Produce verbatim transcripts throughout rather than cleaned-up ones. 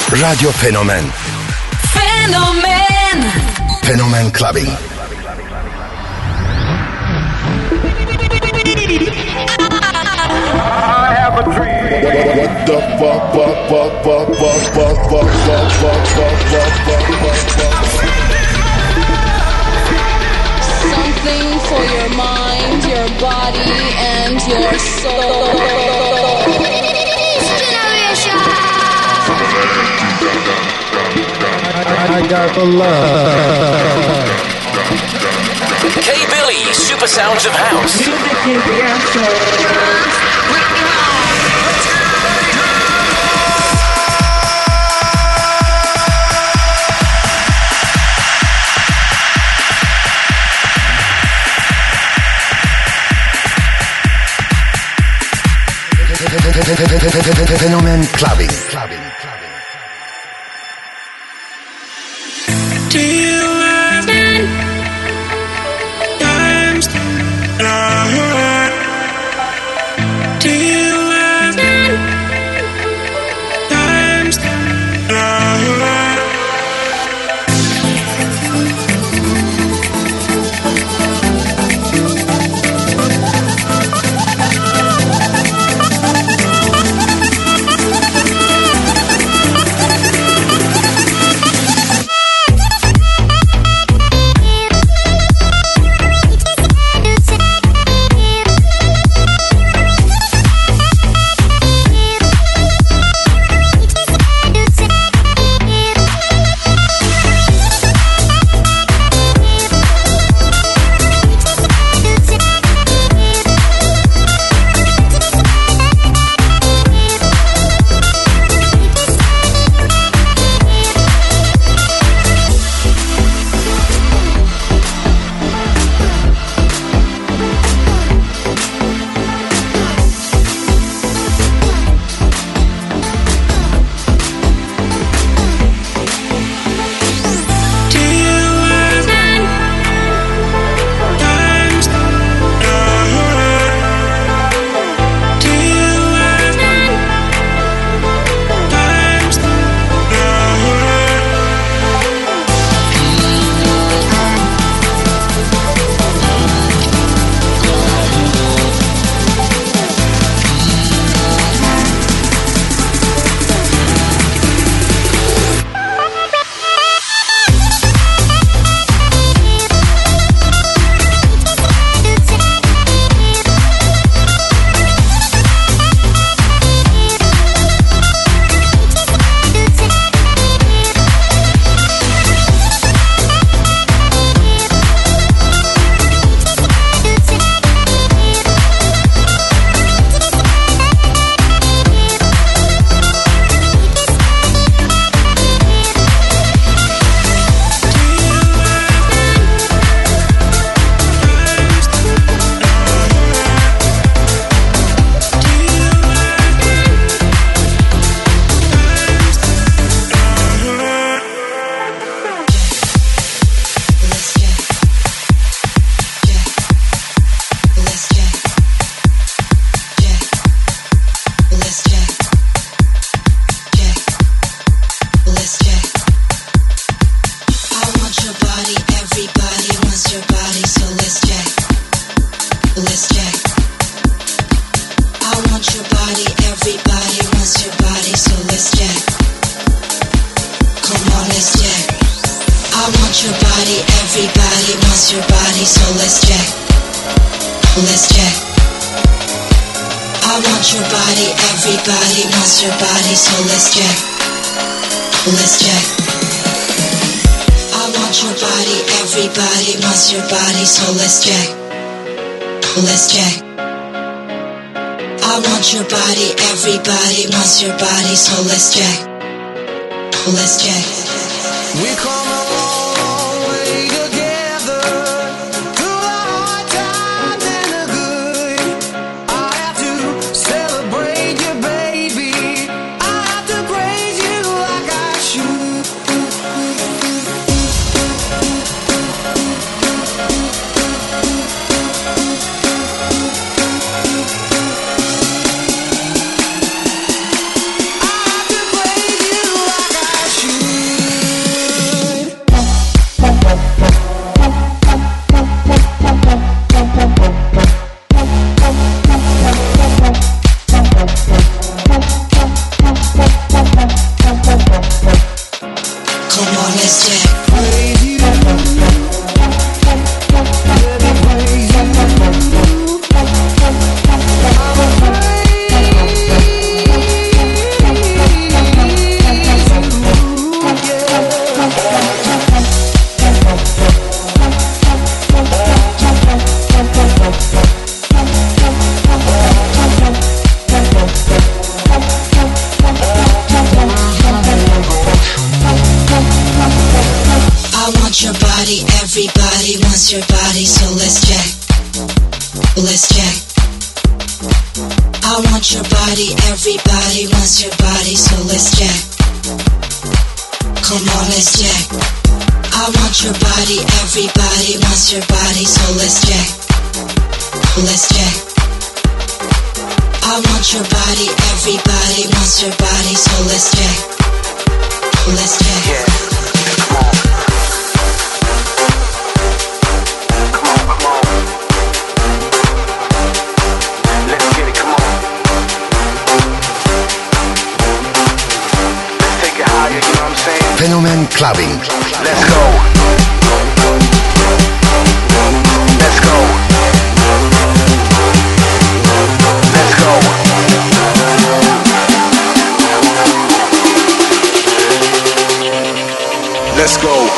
Radyo Fenomen. Fenomen. Fenomen Clubbing. I have a dream. What the fuck, fuck, fuck, fuck, fuck, fuck, fuck, fuck, fuck, fuck, fuck, fuck, fuck. Something for your mind, your body, and your soul. I got the love. K-Billy, Super Sounds of House. Music is the answer. Fenomen Clubbing. Clubbing. Do you understand? Times are Do you understand? Times are your body, so let's check. Let's check. We come a long way together, through the hard times and the good. I have to celebrate you, baby. I have to praise you like I should. I have to praise you like I body, everybody wants your body, so let's check. Let's check. I want your body, everybody wants your body, so let's check. Come on, let's check. I want your body, everybody wants your body, so let's check. Let's check. I want your body, everybody wants your body, so let's check. Let's check. Yeah. Come on. Come on, come on. Let's get it, come on. Let's take it higher, you know what I'm saying? Fenomen Clubbing. Let's go. Let's go. Let's go. Let's go.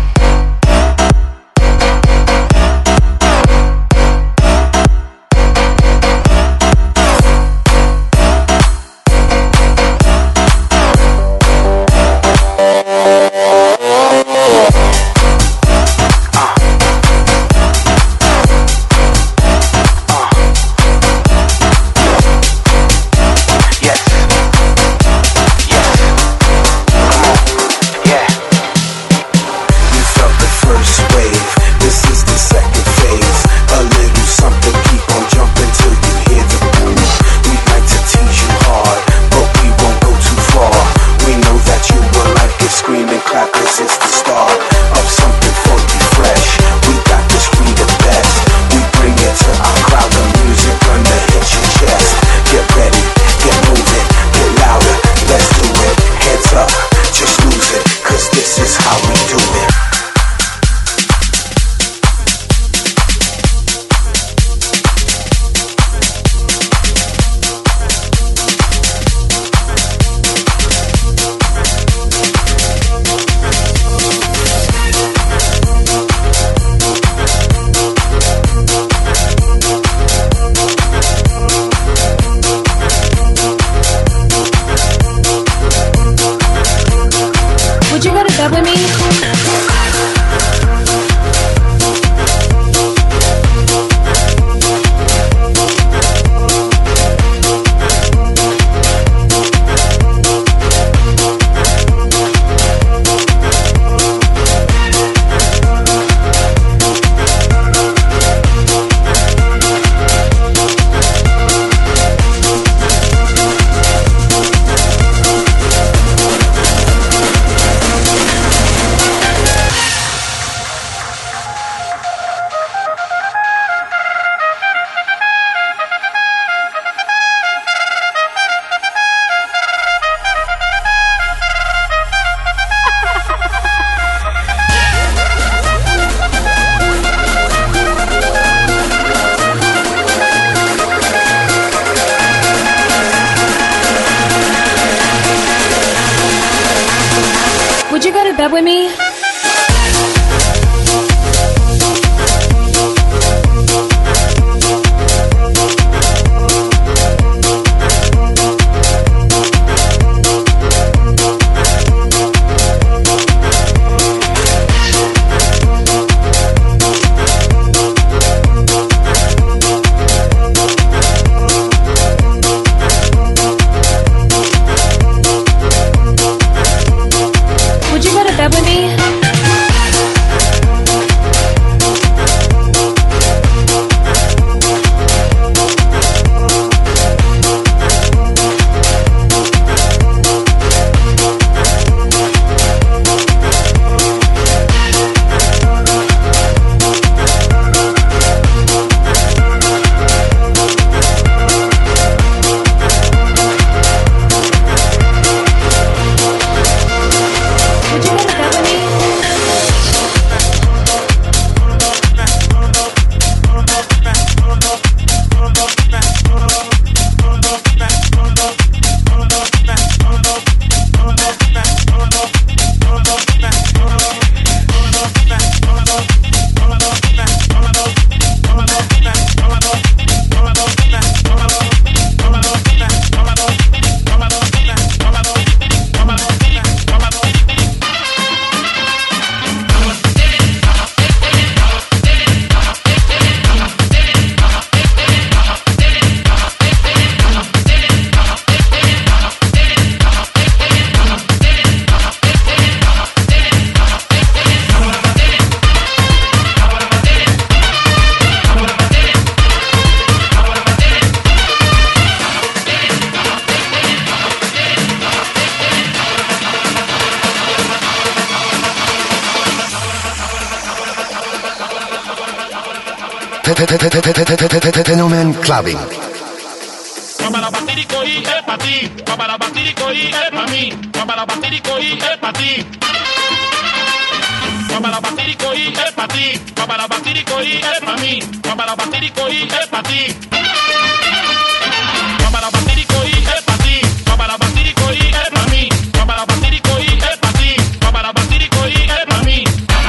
Would you go to bed with me? Would you go to bed with me? Fenomen Clubbing. Para Batirico y es pa' ti, para Batirico y es pa' mí, para Batirico y es pa' ti. Para Batirico y es pa' ti, para Batirico y es pa' mí, para Batirico y es pa' ti. Para Batirico y es pa' ti, para Batirico y es pa' mí, para Batirico y es pa' ti, para Batirico y es pa' mí.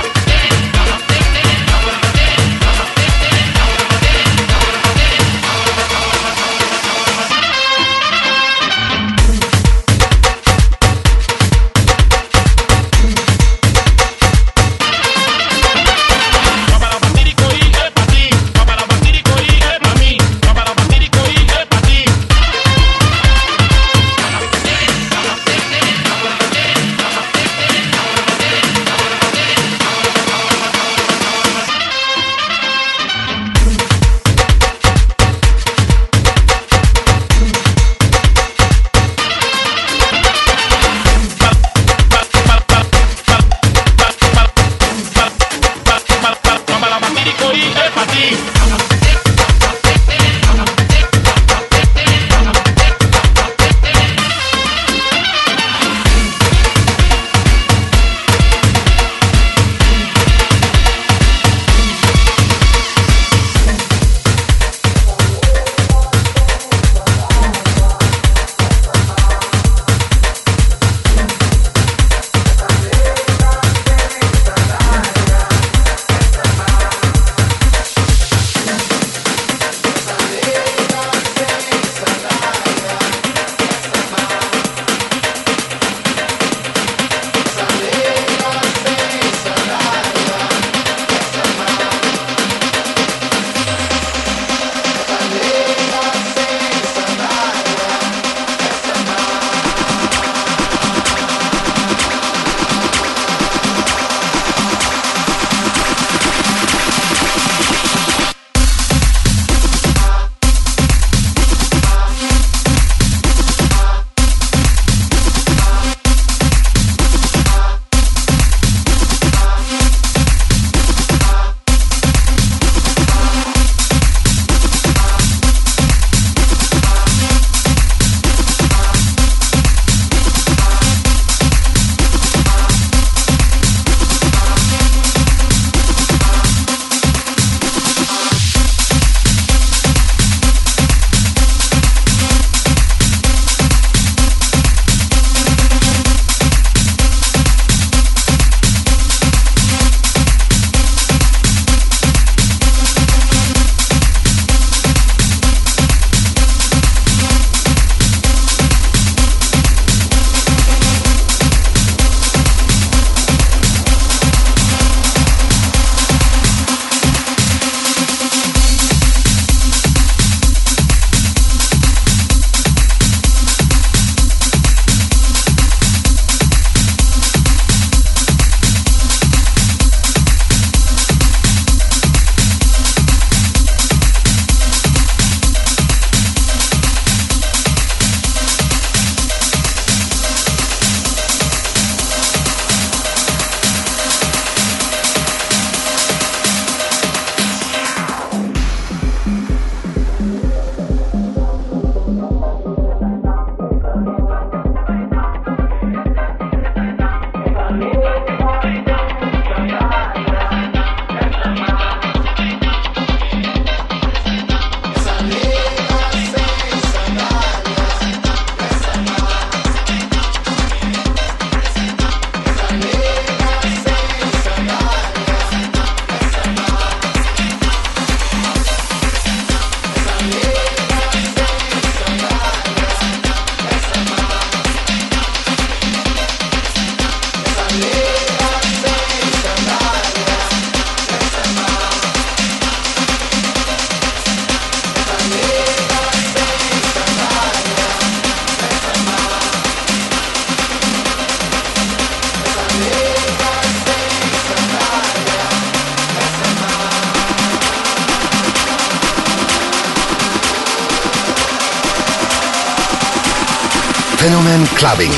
Fenomen Clubbing.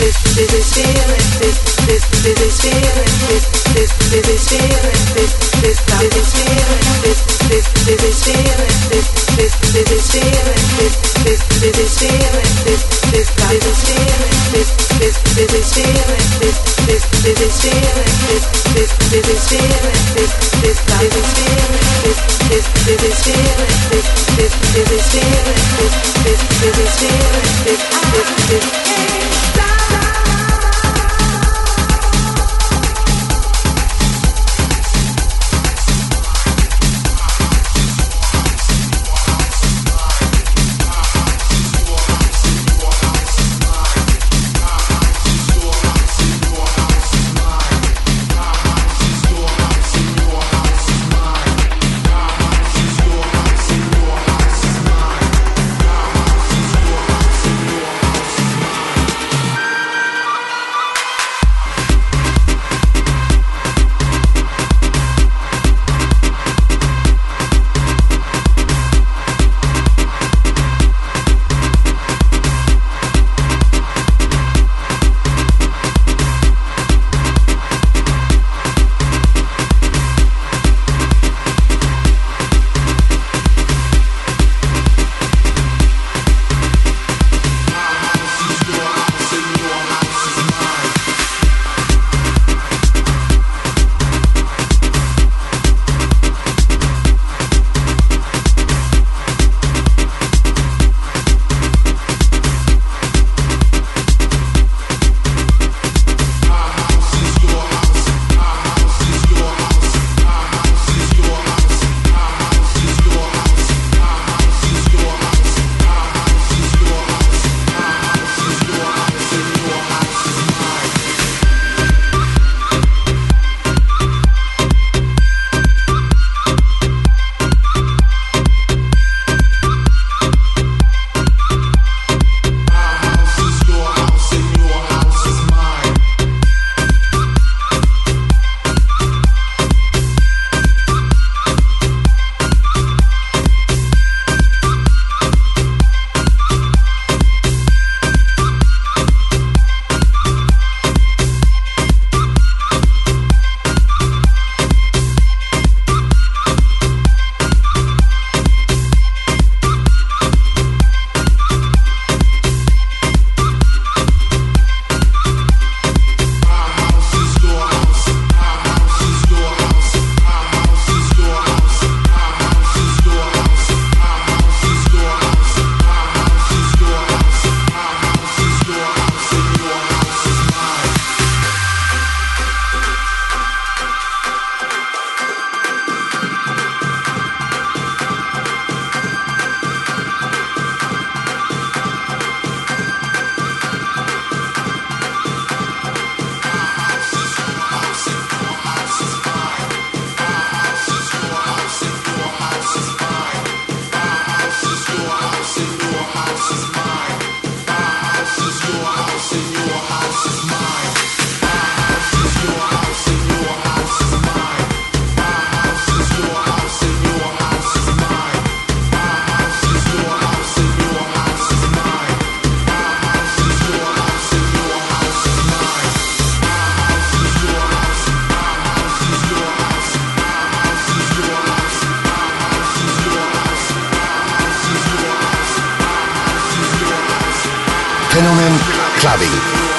Fenomen Clubbing.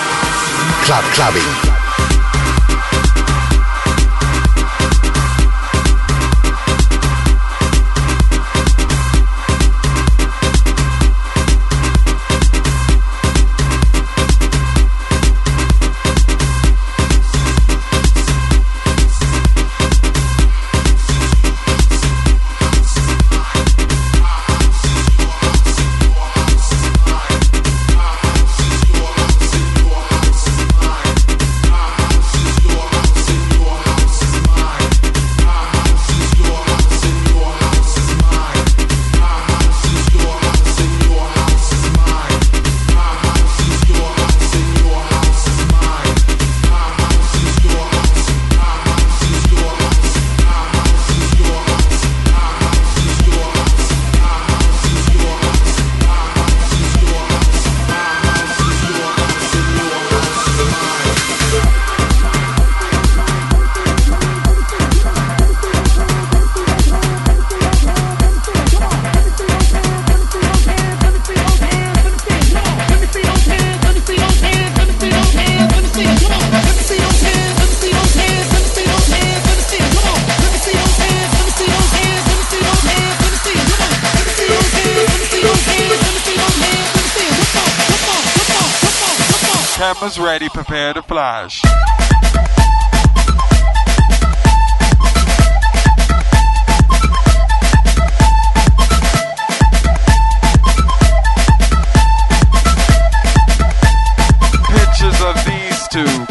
Club Clubbing. House is Cameras ready, prepare to flash. Pictures of these two.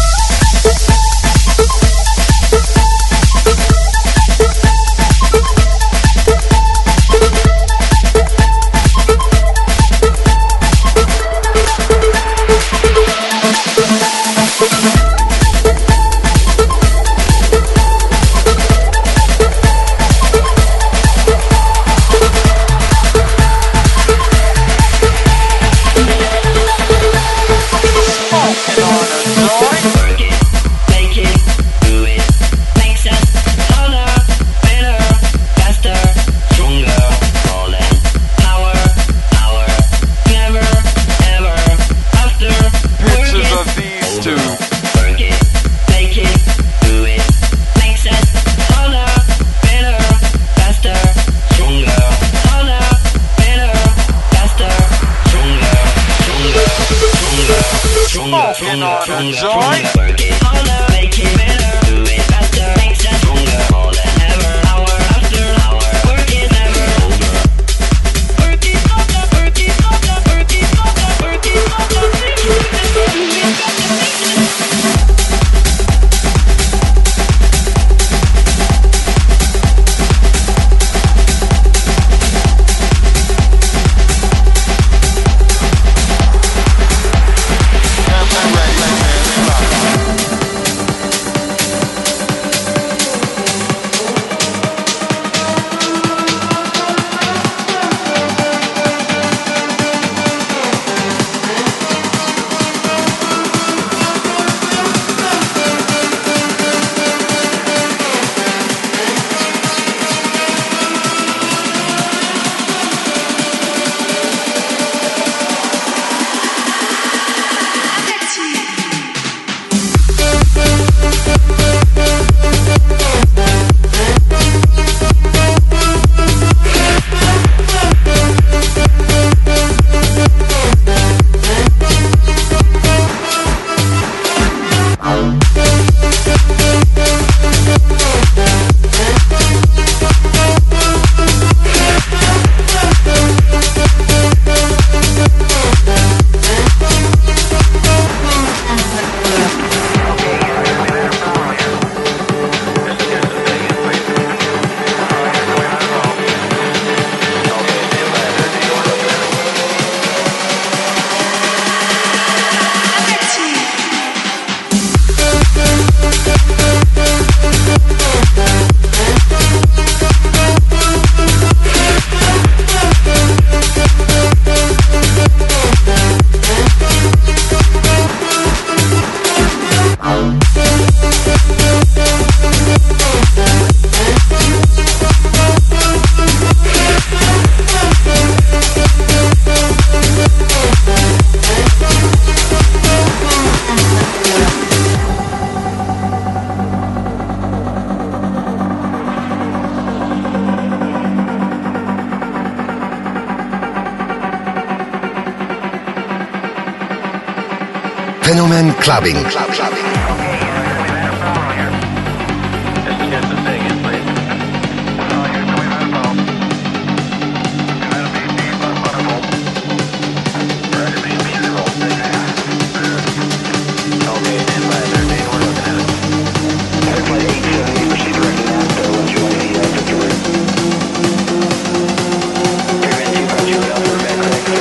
Fenomen Clubbing. Club, clubbing.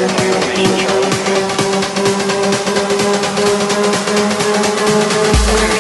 Information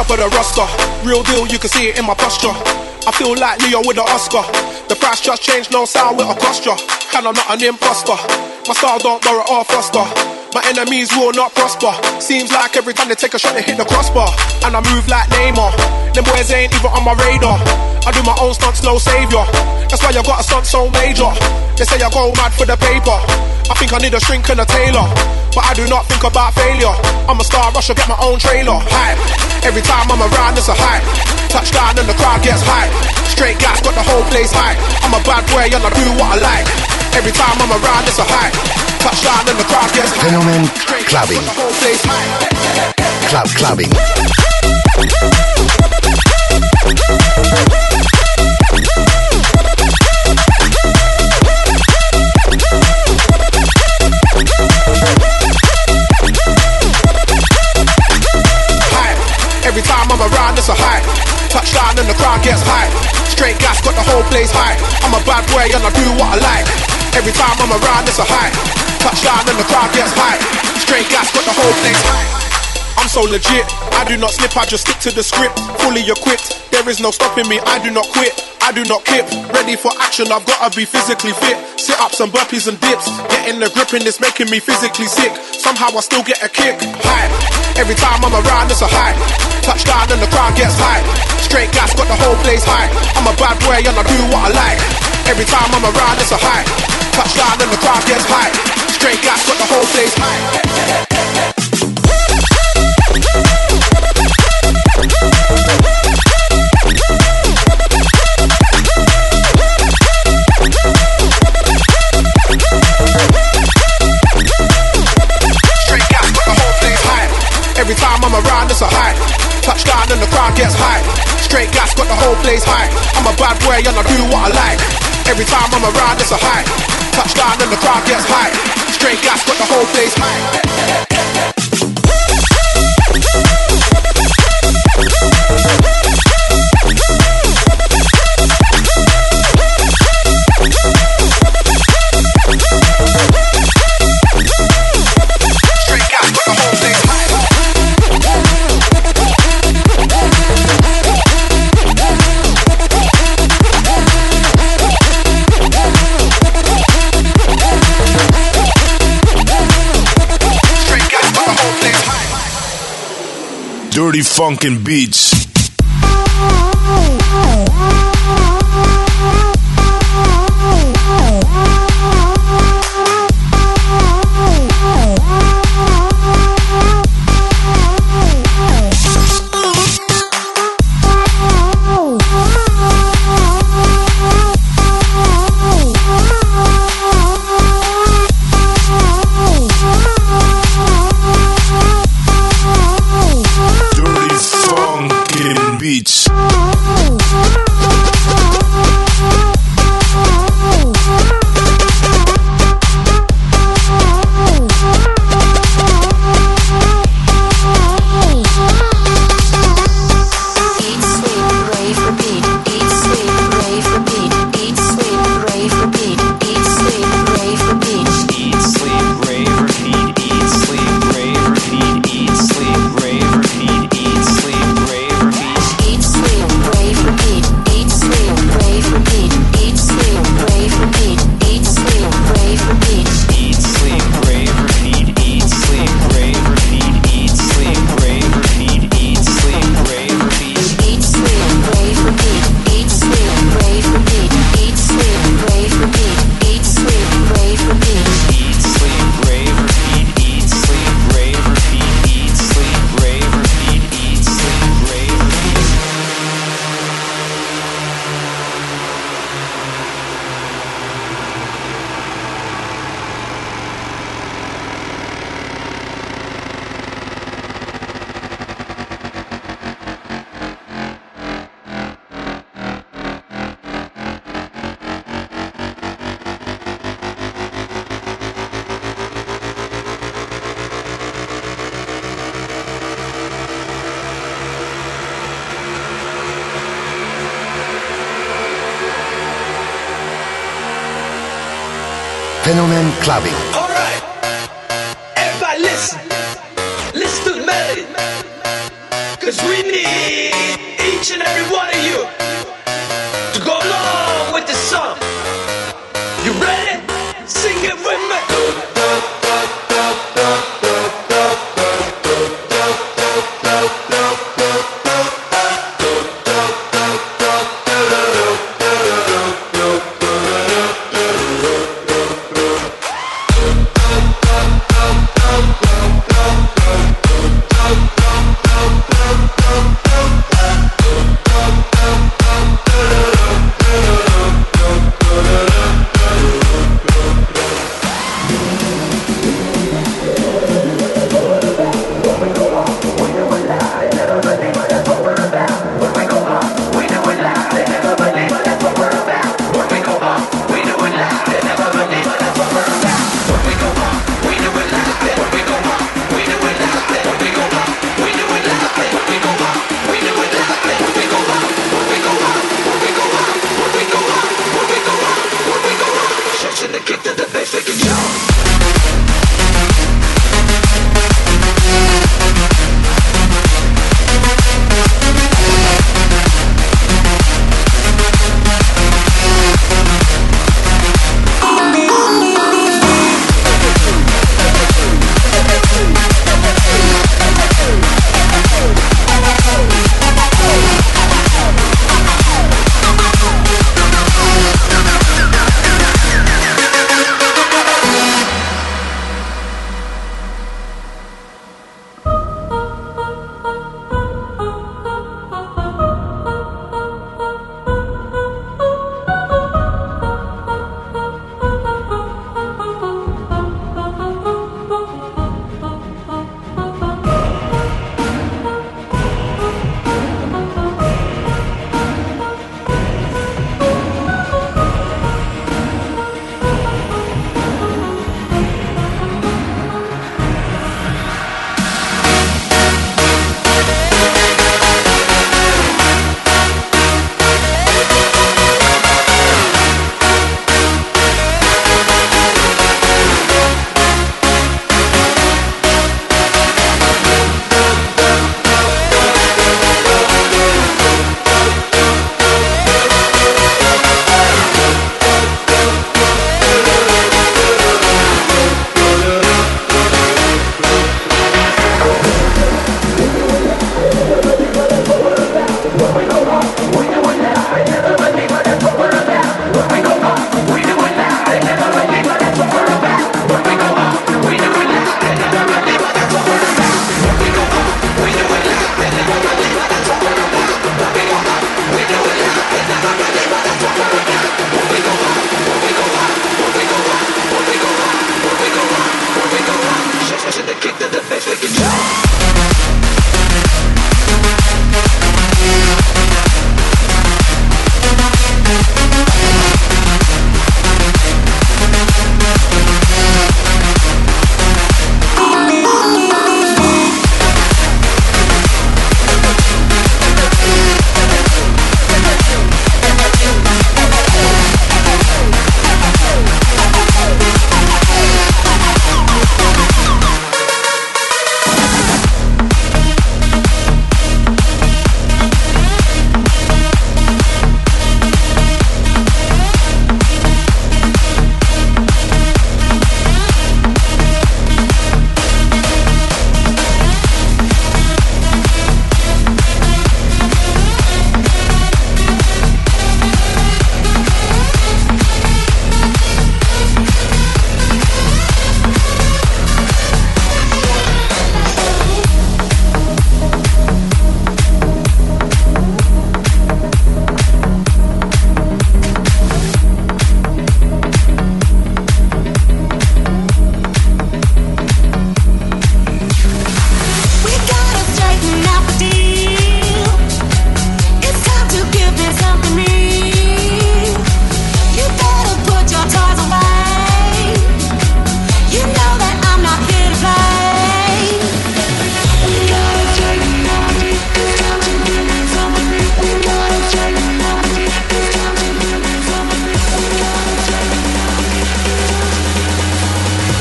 for the roster. Real deal, you can see it in my posture. I feel like Leo with an Oscar. The price just changed, no sound with a posture. And I'm not an imposter. My style don't borrow or foster. My enemies will not prosper. Seems like every time they take a shot they hit the crossbar. And I move like Neymar. Them boys ain't even on my radar. I do my own stunts, no savior. That's why I got a stunt so major. They say I go mad for the paper. I think I need a shrink and a tailor, but I do not think about failure. I'm a star, rush, I get my own trailer. Hype. Every time I'm around, it's a hype. Touchdown and the crowd gets hype. Straight gas, got the whole place hype. I'm a bad boy and I do what I like. Every time I'm around, it's a hype. Touchdown and the crowd gets hype. Fenomen Clubbing. The whole place hype. Club Clubbing. Every time I'm around, it's a hype. Touchdown and the crowd gets hype. Straight gas, got the whole place hype. I'm a bad boy and I do what I like. Every time I'm around, it's a hype. Touchdown and the crowd gets hype. Straight gas, got the whole place hype. I'm so legit, I do not slip, I just stick to the script. Fully equipped, there is no stopping me, I do not quit. I do not kip, ready for action, I've gotta be physically fit. Sit-ups and burpees and dips, getting the grip and it's making me physically sick. Somehow I still get a kick, hype. Every time I'm around, it's a hype. Touchdown and the crowd gets hype. Straight gas, got the whole place hype. I'm a bad boy and I do what I like. Every time I'm around, it's a hype. Touchdown and the crowd gets hype. Straight gas, got the whole place hype. Every time I'm around, it's a hype. Touchdown and the crowd gets hype. Straight gas, got the whole place hype. I'm a bad boy and I do what I like. Every time I'm around, it's a hype. Touchdown and the crowd gets hype. Straight gas, got the whole place hype. Dirty funkin' beats. Fenomen Clubbing. Alright, everybody listen. Listen to the melody. Cause we need each and every one of you to go along with the song. You ready? Sing it with me.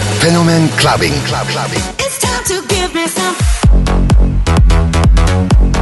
Fenomen Clubbing. Club, clubbing. It's time to give me some.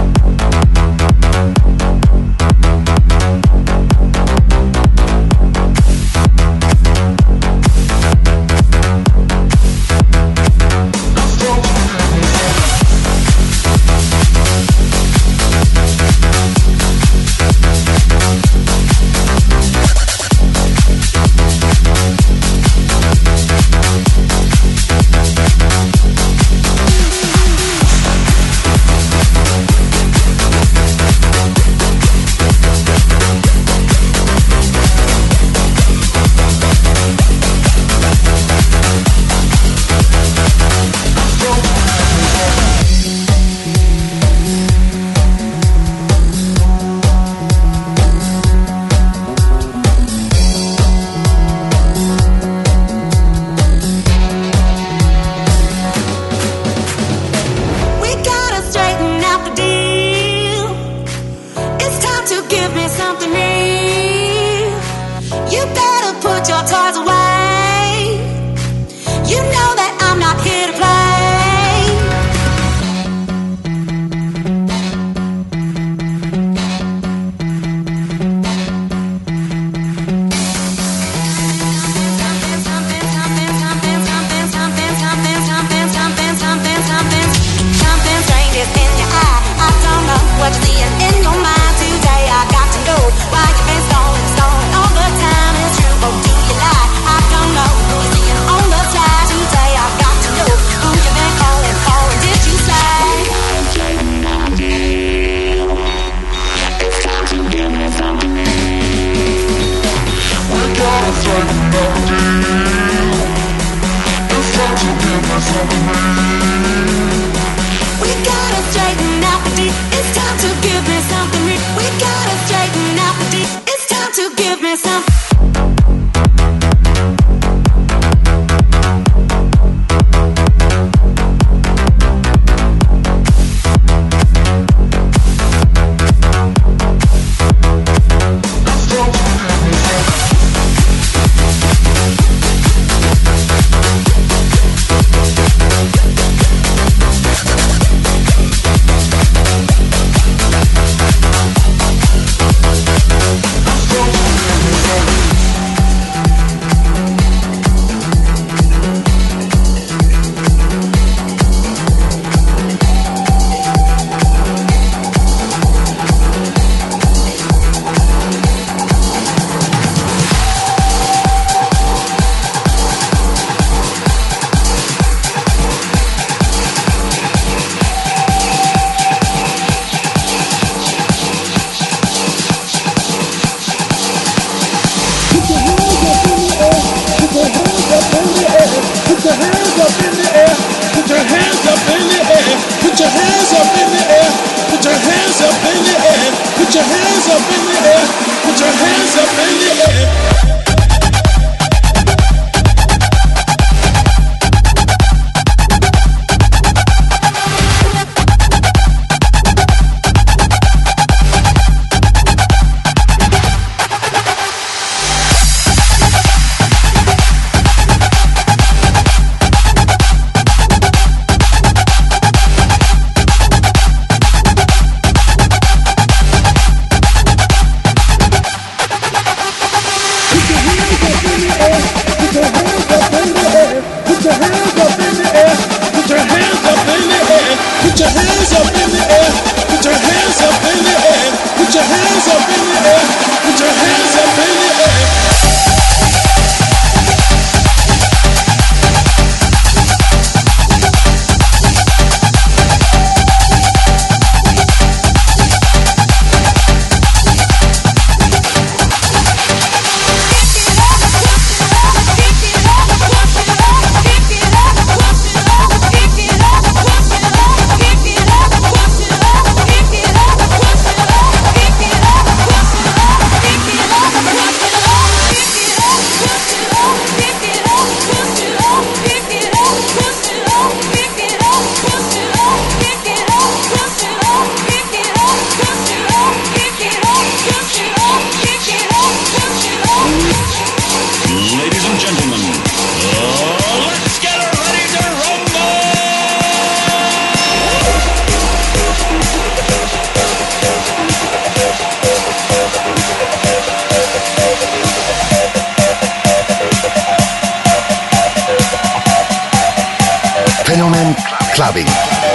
clubbing.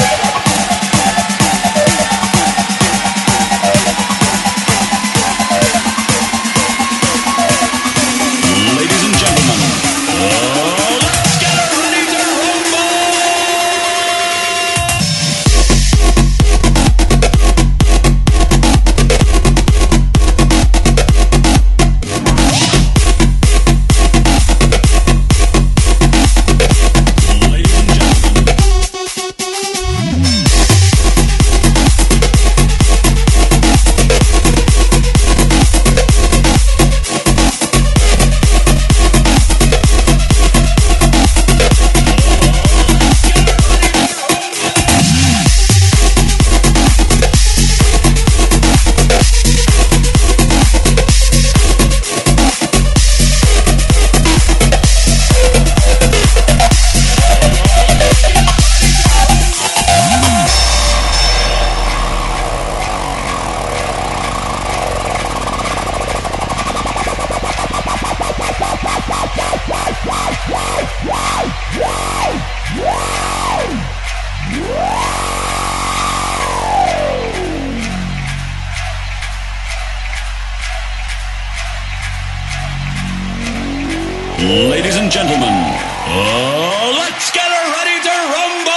Ladies and gentlemen, oh, let's get ready to rumble! Ladies and gentlemen, oh, let's get ready to rumble!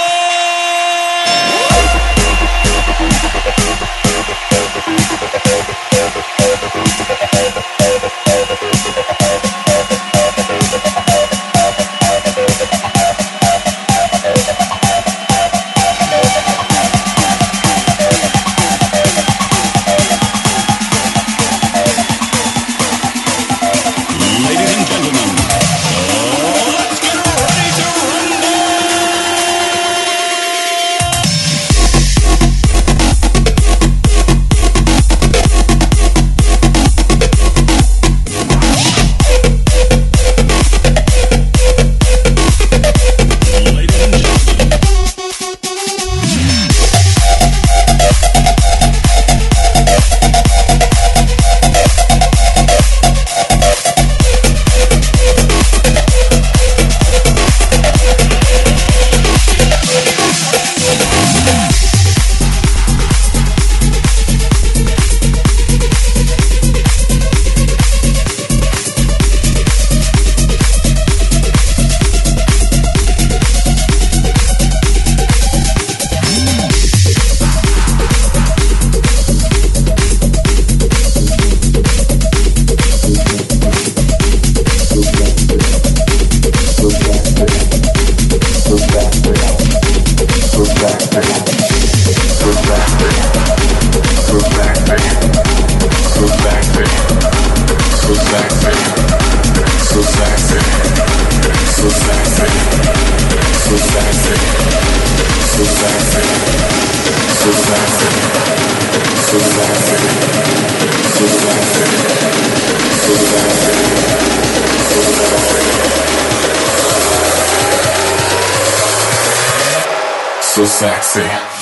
So sexy.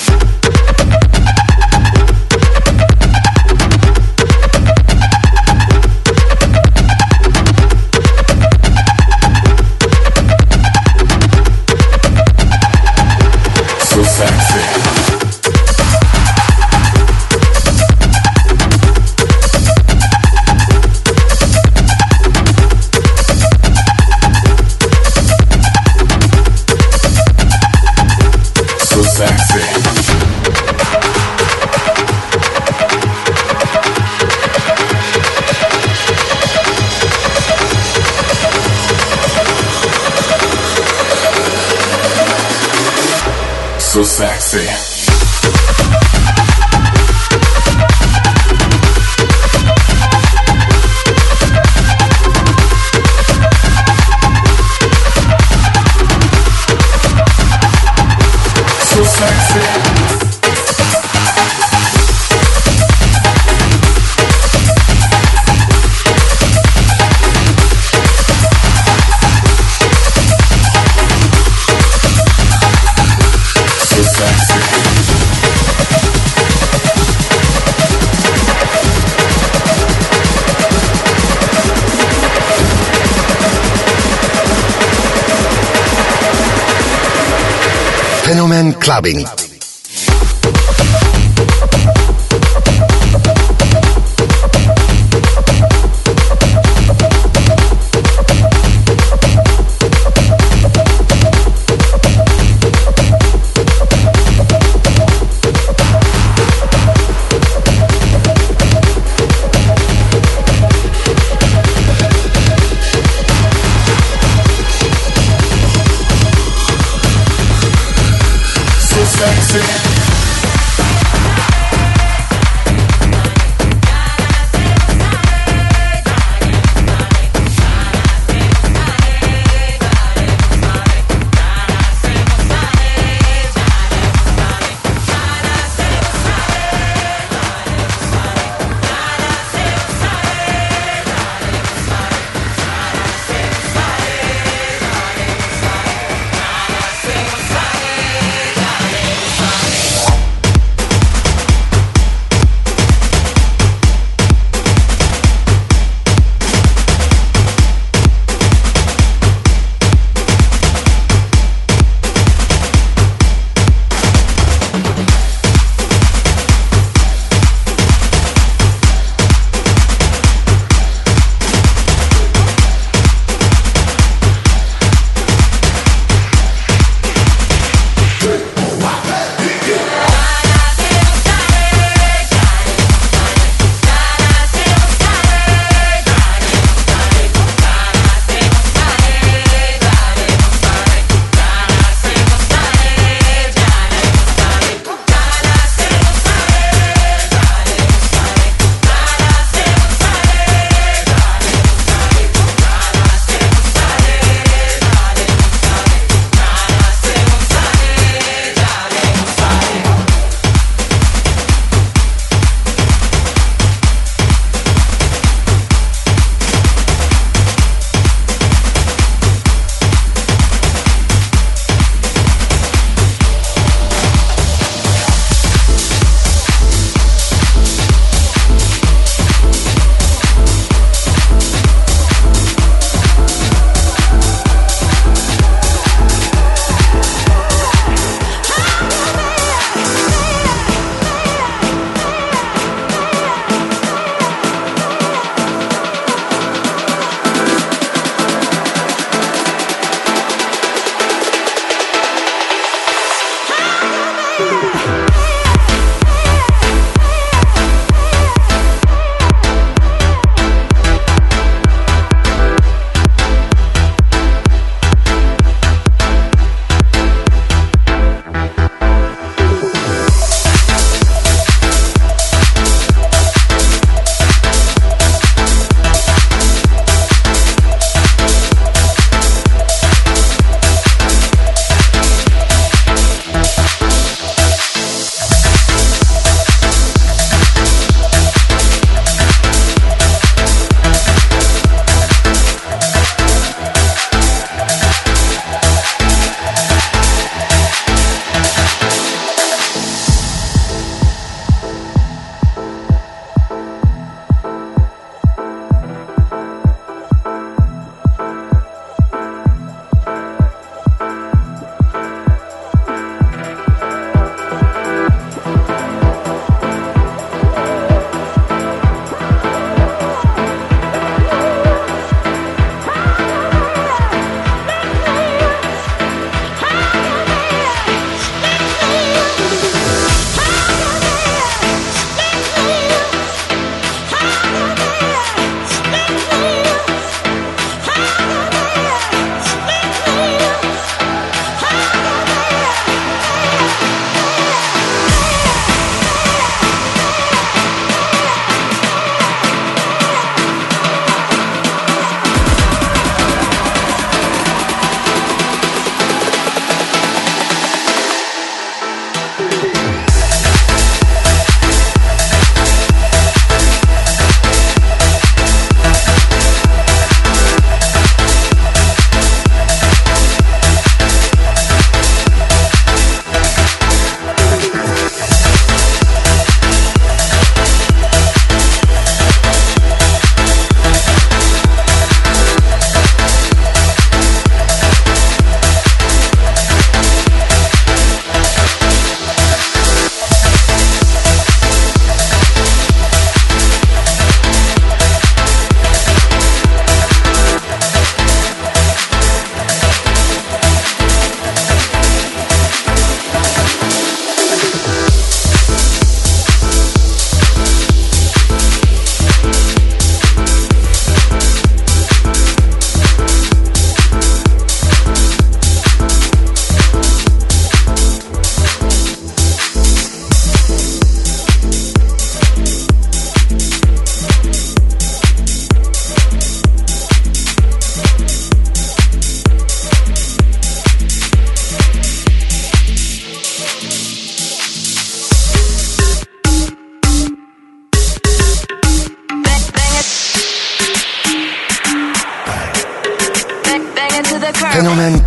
So sexy. So sexy. Fenomen clubbing.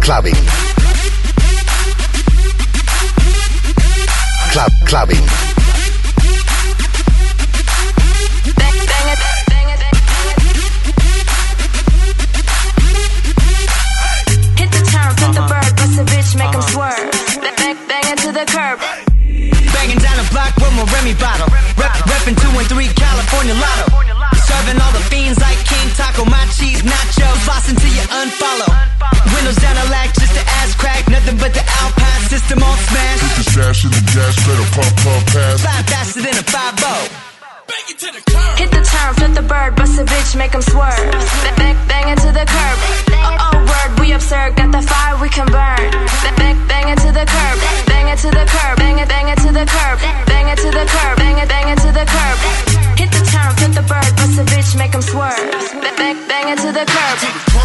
clubbing. Club clubbing. Hit the turn, flip the bird, bust a bitch, make 'em swerve. Bang, bang it to the curb. Banging down the block with my Remy bottle. Rep, reppin' two and three California Lotto. Serving all the fiends like King Taco, my cheese nachos. Floss until you unfollow. Windows down the lack just to ass crack. Nothing but the Alpine system on smash. Put the stash in the gas pedal, pump, pump, pass. Fly faster than a five oh. Hit the turn, flip the bird, bust a bitch, make 'em swerve. Bang, bang it to the curb. Oh, oh, word, we absurd, got the fire we can burn. Bang, bang it to the curb. Bang it to the curb. Bang it, bang it to the curb. Bang it to the curb. Bang it, bang it to the curb. Hit the turn, flip the bird, bust a bitch, make 'em swerve. Bang, bang it to the curb.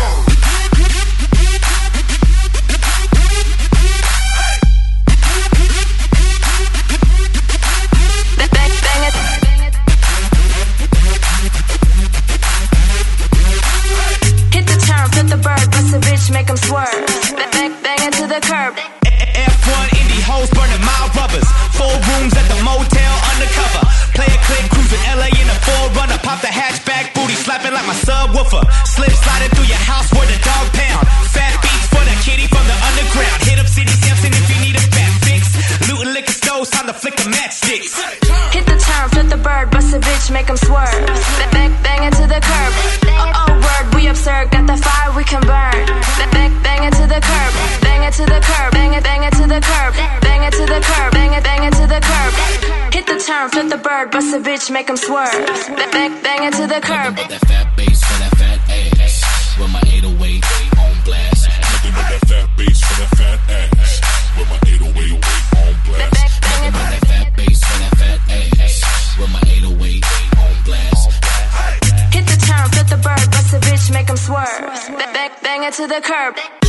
Make 'em swerve. Bang, bang it to the curb. F one Indy hoes burning my rubbers. Four rooms at the motel undercover. Play a click, cruising L A in a four runner. Pop the hatchback, booty slapping like my subwoofer. Slip sliding through your house where the dog pound. Fat beats for the kitty from the underground. Hit up City Sampson if you need a fat fix. Looting liquor stores, time to flick the matchsticks. Hit the turn, flip the bird, bust a bitch, make 'em swerve. Bang, bang it to the curb. Oh, oh, word, we absurd, got the fire we can burn. Bang, bang it to the curb. Bang it to the curb. Bang it, bang it to the curb. Bang it to the curb. Bang it, bang it to the curb. Hit the turn, flip the bird, bust a bitch, make 'em swerve. Bang, bang it to the curb. Nothing but that fat bass for that fat ass. With my eight oh eight on blast. Nothing but that fat bass for that fat ass. With my eight oh eight on blast. Nothing but that fat bass for that fat ass. With my eight oh eight on blast. Hit the turn, flip the bird, bust a bitch, make 'em swerve. Bang, bang it to the curb.